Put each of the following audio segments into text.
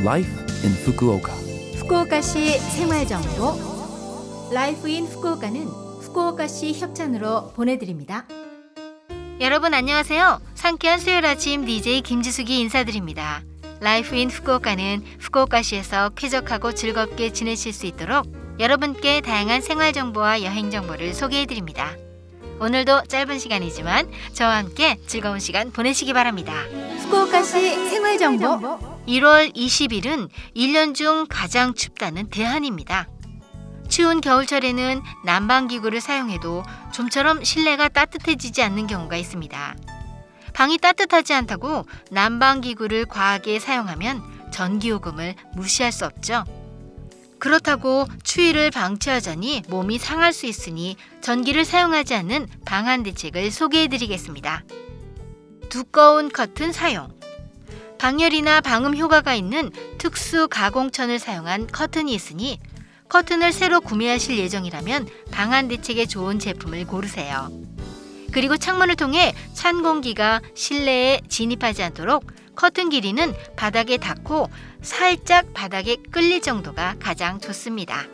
Life in Fukuoka. 후쿠오카시 생활정보 라이프 인 후쿠오카는 후쿠오카시 협찬으로 보내드립니다. 여러분 안녕하세요. 상쾌한 수요일 아침 DJ 김지숙이 인사드립니다. 라이프 인 후쿠오카는 후쿠오카시에서 쾌적하고 즐겁게 지내실 수 있도록 여러분께 다양한 생활정보와 여행정보를 소개해드립니다. 오늘도 짧은 시간이지만 저와 함께 즐거운 시간 보내시기 바랍니다. 후쿠오카시 생활정보 1월 20일은 1년 중 가장 춥다는 대한입니다. 추운 겨울철에는 난방기구를 사용해도 좀처럼 실내가 따뜻해지지 않는 경우가 있습니다. 방이 따뜻하지 않다고 난방기구를 과하게 사용하면 전기요금을 무시할 수 없죠. 그렇다고 추위를 방치하자니 몸이 상할 수 있으니 전기를 사용하지 않는 방한 대책을 소개해드리겠습니다. 두꺼운 커튼 사용. 방열이나 방음 효과가 있는 특수 가공천을 사용한 커튼이 있으니 커튼을 새로 구매하실 예정이라면 방한 대책에 좋은 제품을 고르세요. 그리고 창문을 통해 찬 공기가 실내에 진입하지 않도록 커튼 길이는 바닥에 닿고 살짝 바닥에 끌릴 정도가 가장 좋습니다.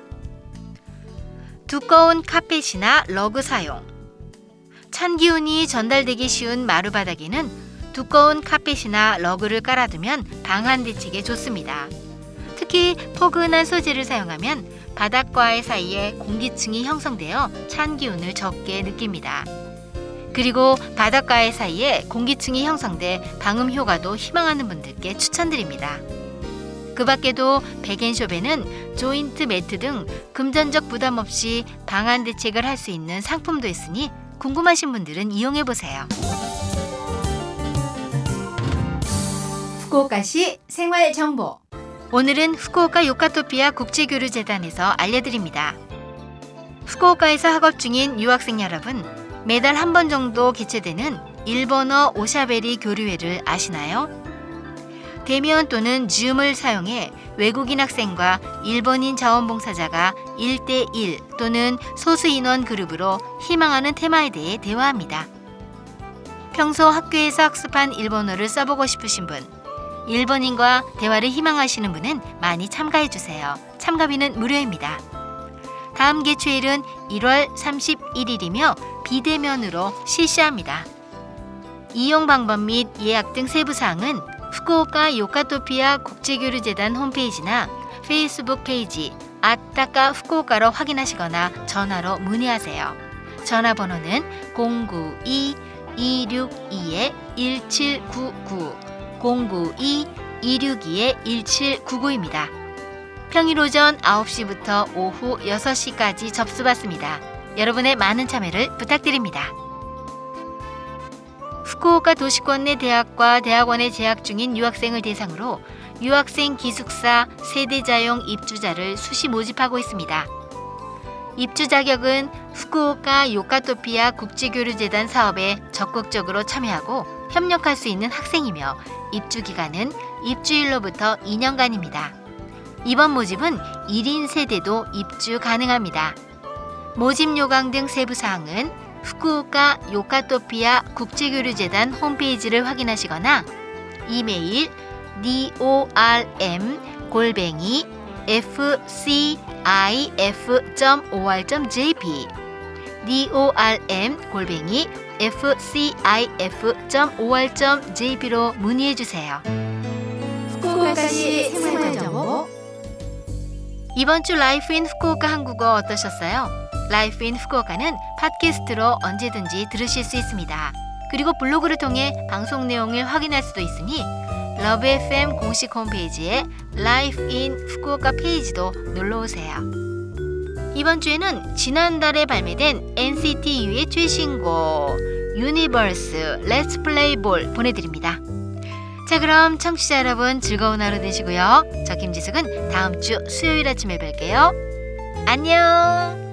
두꺼운 카펫이나 러그 사용. 찬 기운이 전달되기 쉬운 마루바닥에는 두꺼운 카펫이나 러그를 깔아두면 방한 대책에 좋습니다. 특히 포근한 소재를 사용하면 바닥과의 사이에 공기층이 형성되어 찬 기운을 적게 느낍니다. 그리고 바닥과의 사이에 공기층이 형성돼 방음 효과도 희망하는 분들께 추천드립니다. 그 밖에도 백앤숍에는 조인트 매트 등 금전적 부담 없이 방한 대책을 할 수 있는 상품도 있으니 궁금하신 분들은 이용해보세요. 후쿠오카시 생활정보 오늘은 후쿠오카 요카토피아 국제교류재단에서 알려드립니다. 후쿠오카에서 학업 중인 유학생 여러분, 매달 한 번 정도 개최되는 일본어 오샤베리 교류회를 아시나요? 대면 또는 줌을 사용해 외국인 학생과 일본인 자원봉사자가 1대1 또는 소수 인원 그룹으로 희망하는 테마에 대해 대화합니다. 평소 학교에서 학습한 일본어를 써보고 싶으신 분, 일본인과 대화를 희망하시는 분은 많이 참가해주세요. 참가비는 무료입니다. 다음 개최일은 1월 31일이며 비대면으로 실시합니다. 이용 방법 및 예약 등 세부사항은 후쿠오카 요카토피아 국제교류재단 홈페이지나 페이스북 페이지 아따까 후쿠오카로 확인하시거나 전화로 문의하세요. 전화번호는 092-262-1799 092-262-1799입니다. 평일 오전 9시부터 오후 6시까지 접수받습니다. 여러분의 많은 참여를 부탁드립니다. 후쿠오카 도시권 내 대학과 대학원에 재학 중인 유학생을 대상으로 유학생 기숙사 세대자용 입주자를 수시 모집하고 있습니다. 입주 자격은 후쿠오카 요카토피아 국제교류재단 사업에 적극적으로 참여하고 협력할 수 있는 학생이며 입주 기간은 입주일로부터 2년간입니다. 이번 모집은 1인 세대도 입주 가능합니다. 모집 요강 등 세부사항은 후쿠오카 요카토피아 국제교류재단 홈페이지를 확인하시거나 이메일 dorm@fcif.or.jp dorm@fcif.or.jp로 문의해주세요. 후쿠오카시 생활정보 이번 주 라이프 인 후쿠오카 한국어 어떠셨어요? 라이프 인 후쿠오카는 팟캐스트로 언제든지 들으실 수 있습니다. 그리고 블로그를 통해 방송 내용을 확인할 수도 있으니 러브 FM 공식 홈페이지에 라이프 인 후쿠오카 페이지도 놀러오세요. 이번 주에는 지난달에 발매된 NCT U의 최신곡 유니버스 Let's Play Ball 보내드립니다. 자, 그럼 청취자 여러분 즐거운 하루 되시고요. 저 김지숙은 다음 주 수요일 아침에 뵐게요. 안녕.